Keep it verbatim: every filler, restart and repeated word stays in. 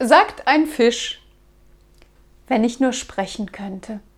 Sagt ein Fisch: Wenn ich nur sprechen könnte.